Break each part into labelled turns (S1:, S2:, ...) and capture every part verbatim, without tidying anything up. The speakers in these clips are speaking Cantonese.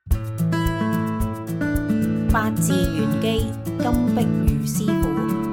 S1: 八字玄機金碧如師傅。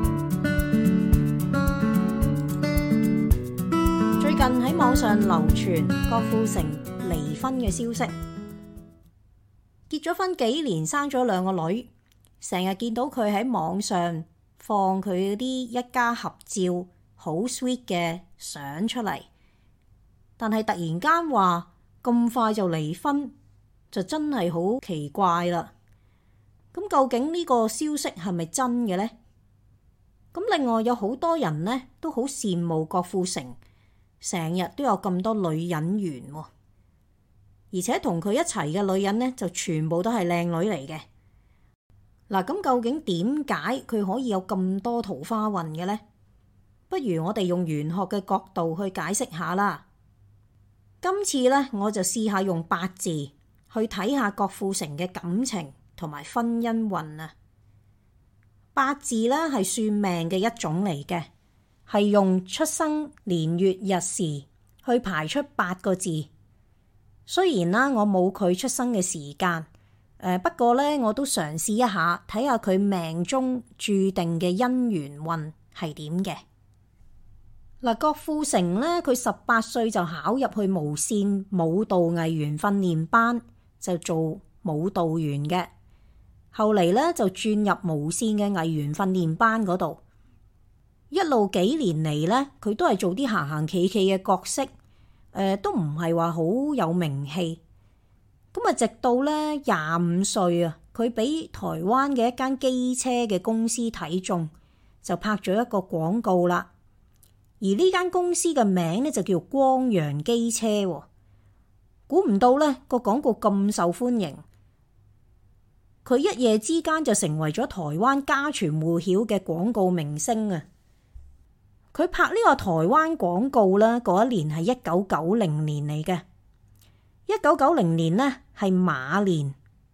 S1: 最近喺網上流傳郭富城離婚嘅消息，結咗婚幾年，生咗兩個女，成日見到佢喺網上放佢嗰啲一家合照，好 sweet 嘅相出嚟，但係突然間話咁快就離婚，就真係好奇怪啦。咁究竟呢個消息係咪真嘅呢？咁另外有好多人呢都好羨慕郭富城，成日都有咁多女人緣喎，而且同佢一齊嘅女人呢就全部都係靚女嚟嘅。嗱，咁究竟點解佢可以有咁多桃花運嘅呢？不如我哋用玄學嘅角度去解釋下啦。今次呢，我就試下用八字去睇下郭富城嘅感情同埋婚姻運啊。八字呢係算命嘅一種嚟嘅，係用出生年月日時去排出八個字。雖然啦，我冇佢出生嘅時間，誒不過呢，我都嘗試一下睇下佢命中注定嘅姻緣運係點嘅。嗱，郭富城呢，佢十八歲就考入去無線舞蹈藝員訓練班，就做舞蹈員嘅。後嚟呢，就轉入無線嘅藝員訓練班嗰度，一路幾年嚟呢，佢都係做啲行行企企嘅角色，誒都唔係話好有名氣。咁啊，直到呢廿五歲啊，佢俾台灣嘅一間機車嘅公司睇中，就拍咗一個廣告啦。而呢間公司嘅名呢，就叫光陽機車喎。估唔到呢個廣告咁受歡迎，佢一夜之間就成為咗台灣家傳戶曉嘅廣告明星啊！佢拍呢個台灣廣告呢，嗰一年係一九九零年嚟嘅。一九九零年呢係馬年，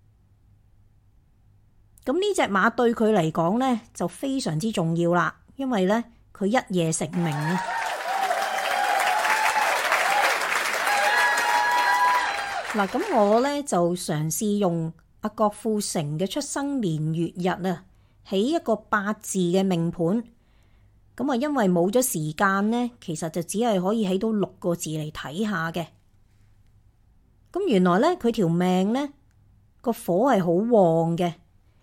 S1: 咁呢隻馬對佢嚟講呢就非常之重要啦，因為呢佢一夜成名啊！嗱，咁我呢就嘗試用阿郭富城嘅出生年月日啊，起一個八字嘅命盤。咁啊，因為冇咗時間呢，其實就只係可以起到六個字嚟睇下嘅。咁原來呢，佢條命呢個火係好旺嘅。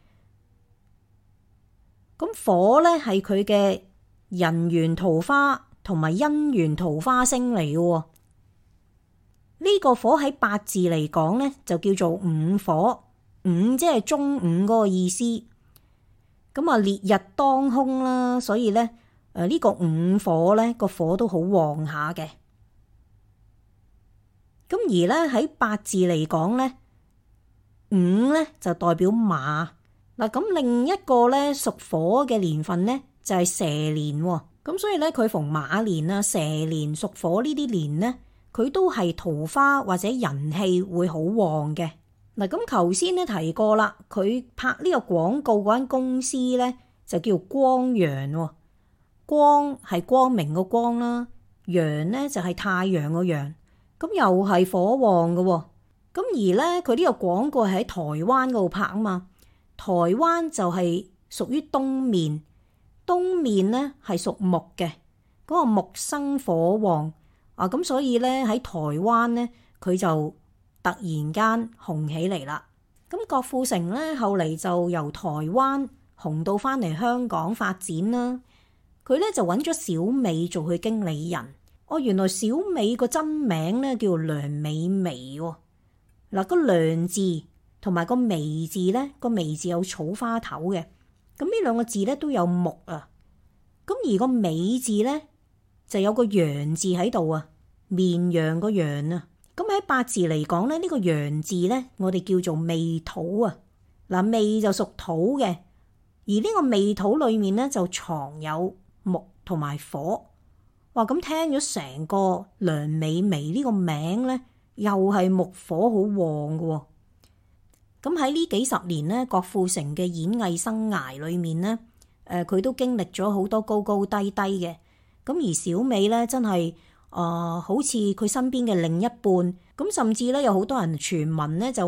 S1: 咁火呢係佢嘅人緣桃花同埋姻緣桃花星嚟嘅喎。呢個火喺八字嚟講呢，就叫做午火。午即係中午嗰個意思。咁啊，烈日當空啦，所以呢，誒呢個午火呢個火都好旺下嘅。咁而呢喺八字嚟講呢，午呢就代表馬。嗱，咁另一個呢屬火嘅年份呢就係蛇年喎。咁所以呢，佢逢馬年啊、蛇年屬火呢啲年呢，佢都係桃花或者人氣會好旺嘅。嗱，咁頭先呢提過啦，佢拍呢個廣告嗰間公司呢就叫光陽喎。光係光明個光啦，陽呢就係太陽個陽。咁又係火旺嘅喎。咁而呢，佢呢個廣告係喺台灣嗰度拍啊嘛。台灣就係屬於東面，東面呢係屬木嘅，嗰個木生火旺啊。咁所以呢，喺台灣呢，佢就突然間紅起嚟啦。咁郭富城呢，後嚟就由台灣紅到翻嚟香港發展啦。佢呢就揾咗小美做佢經理人。哦，原來小美個真名呢叫梁美眉喎。嗱，個梁字同埋個眉字呢，個眉字有草花頭嘅。咁呢兩個字呢都有木啊。咁而個美字呢，就有個陽字喺度啊，綿羊個羊啊。咁喺八字嚟講呢，呢個陽字呢，我哋叫做未土啊。嗱，未就屬土嘅，而呢個未土裏面呢，就藏有木同埋火。哇！咁聽咗成個梁美眉呢個名呢，又係木火好旺嘅喎。咁喺呢幾十年呢，郭富城嘅演藝生涯裏面呢，誒佢都經歷咗好多高高低低嘅。咁而小美呢，真係啊、呃，好似佢身邊嘅另一半。咁甚至呢，有好多人傳聞呢，就話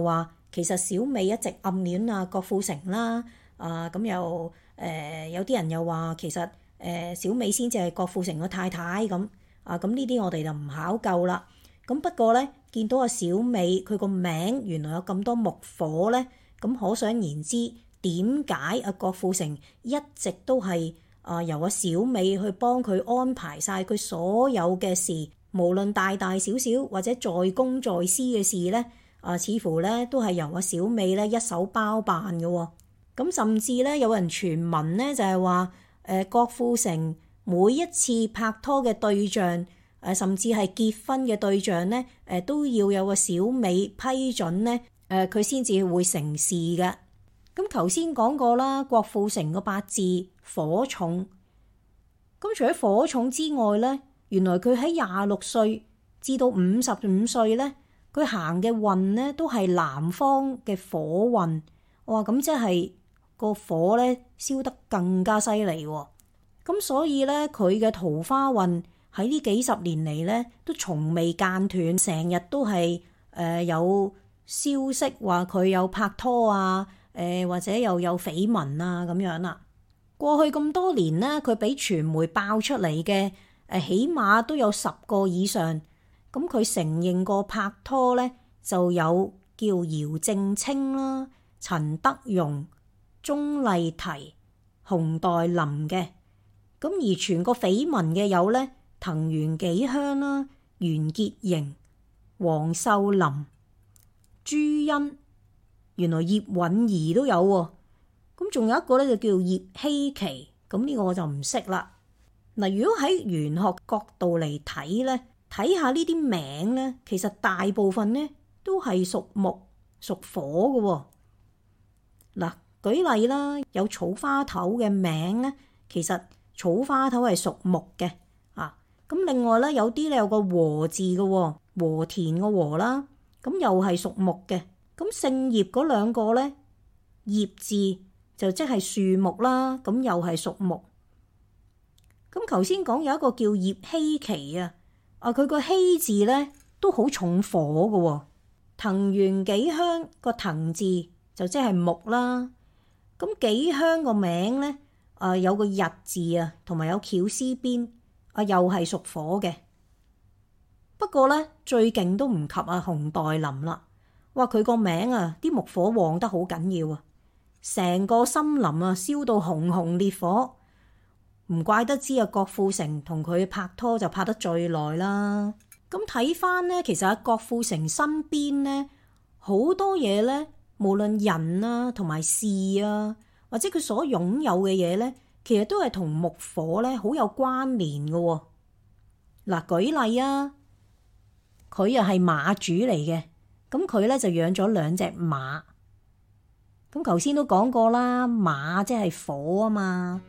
S1: 其實小美一直暗戀啊郭富城啦，啊咁又誒有啲人又話其實誒小美先至係郭富城嘅太太咁，啊咁呢啲我哋就唔考究啦。咁不過咧，見到阿小美佢個名原來有咁多木火咧，咁可想而知點解阿郭富城一直都係啊由阿小美去幫佢安排晒佢所有嘅事，無論大大小小或者在公在私嘅事咧，啊似乎咧都係由阿小美咧一手包辦嘅喎。咁甚至咧有人傳聞咧就係話誒郭富城每一次拍拖嘅對象，誒甚至係結婚嘅對象咧，誒都要有個小美批准咧，誒佢先至會成事嘅。咁頭先講過啦，郭富城個八字火重，咁除咗火重之外咧，原來佢喺廿六歲至到五十五歲咧，佢行嘅運咧都係南方嘅火運。哇！咁即係個火咧燒得更加犀利喎。咁所以咧，佢嘅桃花運喺呢幾十年嚟咧，都從未間斷，成日都係誒、呃、有消息話佢有拍拖啊，誒、呃、或者又有緋聞啊咁樣啦。過去咁多年咧，佢俾傳媒爆出嚟嘅誒，起碼都有十個以上。咁佢承認過拍拖咧，就有叫姚正清啦、陳德容、鐘麗緹、熊黛林嘅。咁而傳過緋聞嘅有咧，藤原紀香啦、袁潔瑩、黃秀琳、朱茵，原來葉蘊儀都有喎。咁仲有一個咧就叫葉希琪，咁呢個我就唔識啦。嗱，如果喺玄學角度嚟睇咧，睇下呢啲名咧，其實大部分咧都係屬木屬火嘅喎。嗱，舉例啦，有草花頭嘅名咧，其實草花頭係屬木嘅。咁另外咧，有啲咧有個和字嘅喎，和田個和啦，咁又係屬木嘅。咁姓葉嗰兩個咧，葉字就即係樹木啦，咁又係屬木。咁頭先講有一個叫葉希琪啊，啊佢個希字咧都好重火嘅喎。藤原紀香個藤字就即係木啦。咁紀香個名咧，啊有個日字啊，同埋有絞絲邊。啊，又係屬火嘅，不過咧最勁都唔及阿熊黛林啦。哇，佢個名啊，啲木火旺得好緊要啊，成個森林啊燒到熊熊烈火，唔怪得知啊郭富城同佢拍拖就拍得最耐啦。咁睇翻咧，其實阿郭富城身邊咧好多嘢咧，無論人啊同埋事啊，或者佢所擁有嘅嘢咧，其實都係同木火咧好有關聯嘅喎。嗱，舉例啊，佢又係馬主嚟嘅，咁佢咧就養咗兩隻馬。咁頭先都講過啦，馬即係火啊嘛。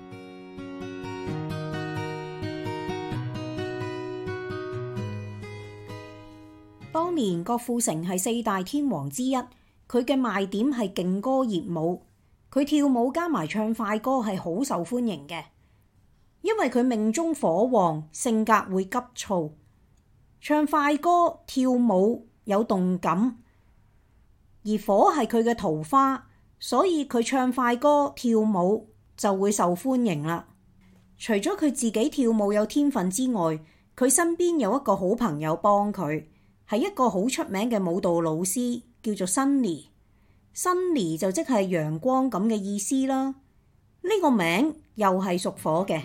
S1: 當年郭富城係四大天王之一，佢嘅賣點係勁歌熱舞。佢跳舞加埋唱快歌係好受歡迎嘅，因為佢命中火旺，性格會急躁。唱快歌跳舞有動感，而火係佢嘅桃花，所以佢唱快歌跳舞就會受歡迎啦。除咗佢自己跳舞有天分之外，佢身邊有一個好朋友幫佢，係一個好出名嘅舞蹈老師，叫做 Sunny。Sunny 就即係陽光咁嘅意思啦。呢個名又係屬火嘅。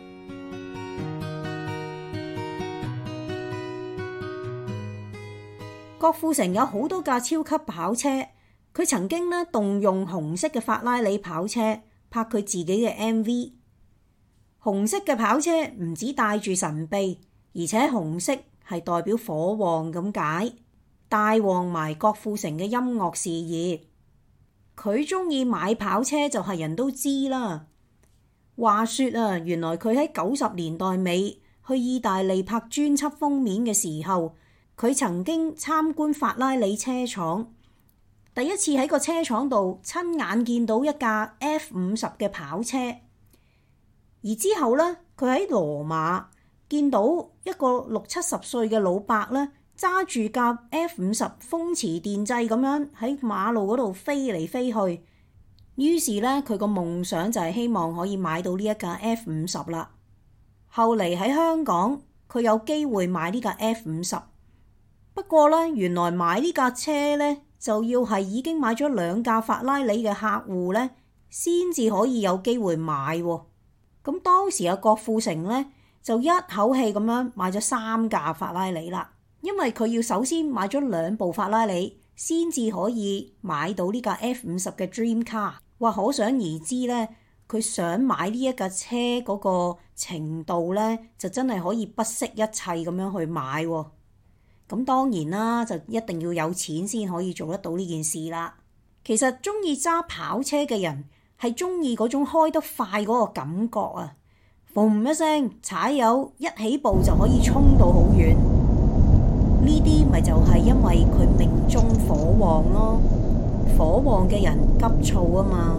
S1: 郭富城有好多架超級跑車，佢曾經呢動用紅色嘅法拉利跑車拍佢自己嘅 M V。紅色嘅跑車唔止帶住神秘，而且紅色係代表火旺咁解，帶旺埋郭富城嘅音樂事業。佢中意買跑車就係人都知啦。話說啊，原來佢喺九十年代尾去意大利拍專輯封面嘅時候，佢曾經參觀法拉利車廠，第一次喺個車廠度親眼見到一架 F 五十嘅跑車。而之後咧，佢喺羅馬見到一個六七十歲嘅老伯咧， 揸住架 F 五十風馳電掣咁樣喺馬路嗰度飛嚟飛去。於是咧，佢個夢想就係希望可以買到呢一架 F 五十啦。後嚟喺香港，佢有機會買呢架 F 五十。不過咧，原來買呢架車咧就要係已經買咗兩架法拉利嘅客戶咧，先至可以有機會買喎。咁當時阿郭富城咧就一口氣咁樣買咗三架法拉利啦，因為佢要首先買咗兩部法拉利，先至可以買到呢架 F 五十嘅 Dream Car。哇！可想而知咧，佢想買呢一架車嗰個程度咧，就真係可以不惜一切咁樣去買喎。咁當然啦，就一定要有錢先可以做得到呢件事啦。其實中意揸跑車嘅人係中意嗰種開得快嗰個感覺啊！嘣一聲踩油，一起步就可以衝到好遠。呢啲咪就係因為佢命中火旺咯。火旺嘅人急躁啊嘛。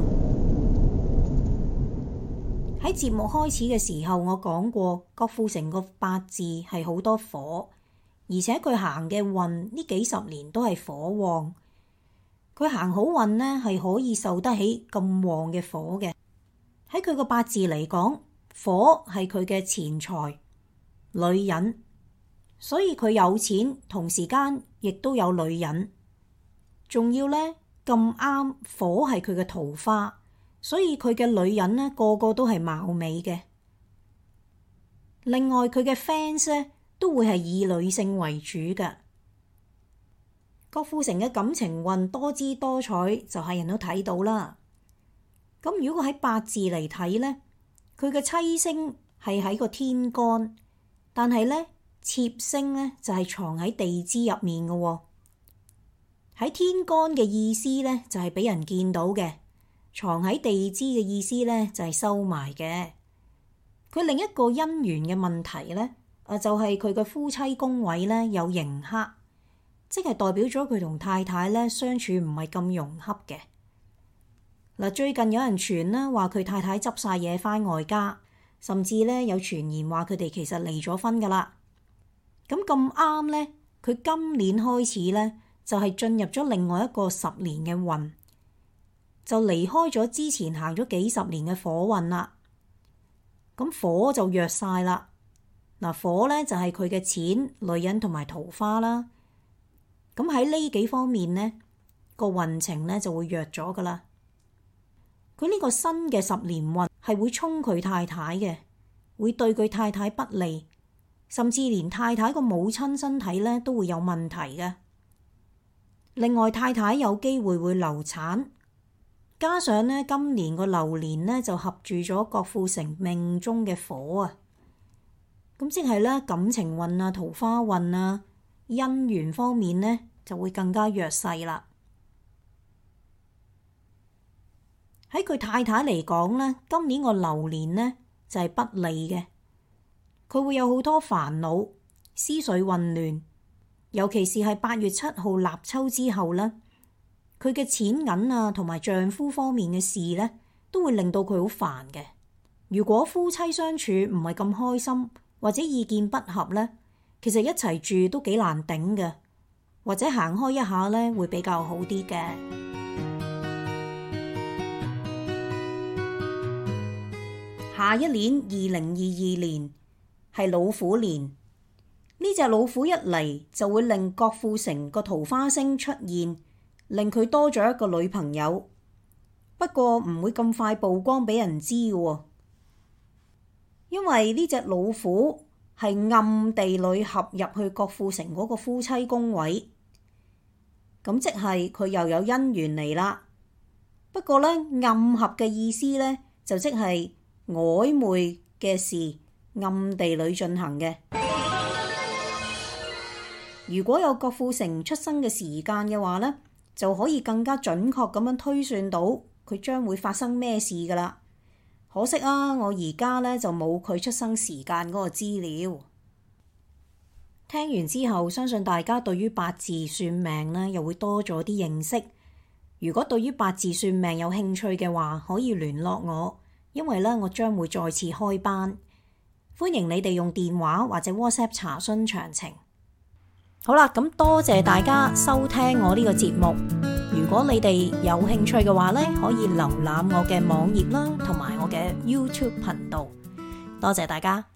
S1: 喺節目開始嘅時候，我講過郭富城個八字係好多火，而且佢行嘅運呢幾十年都係火旺。佢行好運呢係可以受得起咁旺嘅火嘅。喺佢個八字嚟講，火係佢嘅錢財、女人，所以佢有錢，同時間亦都有女人。仲要呢。咁啱火係佢嘅桃花，所以佢嘅女人呢個個都係貌美嘅。另外佢嘅 fans 呢都會係以女性為主嘅。郭富城嘅感情運多姿多彩，就係人都睇到啦。咁如果喺八字嚟睇呢，佢嘅妻星係喺個天干，但係呢，妾星呢就係藏喺地支入面嘅喎。喺天干嘅意思咧，就係俾人見到嘅；藏喺地支嘅意思咧，就係收埋嘅。佢另一個姻緣嘅問題咧，啊就係佢嘅夫妻宮位咧有刑克，即係代表咗佢同太太咧相處唔係咁融洽嘅。嗱，最近有人傳啦，話佢太太執晒嘢返外家，甚至咧有傳言話佢哋其實離咗婚噶啦。咁咁啱咧，佢今年開始咧。就係進入咗另外一個十年嘅運，就離開咗之前行咗幾十年嘅火運啦。咁火就弱晒啦。嗱，火咧就係佢嘅錢、女人同埋桃花啦。咁喺呢幾方面呢，個運程咧就會弱咗噶啦。佢呢個新嘅十年運係會沖佢太太嘅，會對佢太太不利，甚至連太太個母親身體咧都會有問題嘅。另外，太太有機會會流產，加上呢今年個流年呢就合住咗郭富城命中嘅火啊，咁即係咧感情運啊、桃花運啊、姻緣方面呢就會更加弱勢啦。喺佢太太嚟講呢，今年個流年呢就係不利嘅，佢會有好多煩惱、思緒混亂。尤其是係八月七號立秋之後咧，佢嘅錢銀啊同埋丈夫方面嘅事咧，都會令到佢好煩嘅。如果夫妻相處唔係咁開心，或者意見不合咧，其實一齊住都幾難頂嘅，或者行開一下咧會比較好啲嘅。下一年二零二二年係老虎年。呢隻老虎一嚟就會令郭富城個桃花星出現，令佢多咗一個女朋友。不過唔會咁快曝光俾人知嘅，因為呢隻老虎係暗地裏合入去郭富城嗰個夫妻宮位，咁即係佢又有姻緣嚟啦。不過呢，暗合嘅意思呢，就即係曖昧嘅事，暗地裏進行嘅。如果有郭富城出生嘅時間嘅話呢，就可以更加準確咁樣推算到佢將會發生咩事㗎啦。可惜啊，我而家呢就冇佢出生時間嗰個資料。聽完之後，相信大家對於八字算命呢又會多咗啲認識。如果對於八字算命有興趣嘅話，可以聯絡我，因為呢我將會再次開班，歡迎你哋用電話或者 WhatsApp 查詢詳情。 好啦，咁多謝大家收聽我呢個節目。如果你哋有興趣嘅話呢，可以瀏覽我嘅網頁啦，同埋我嘅 YouTube 頻道。多謝大家。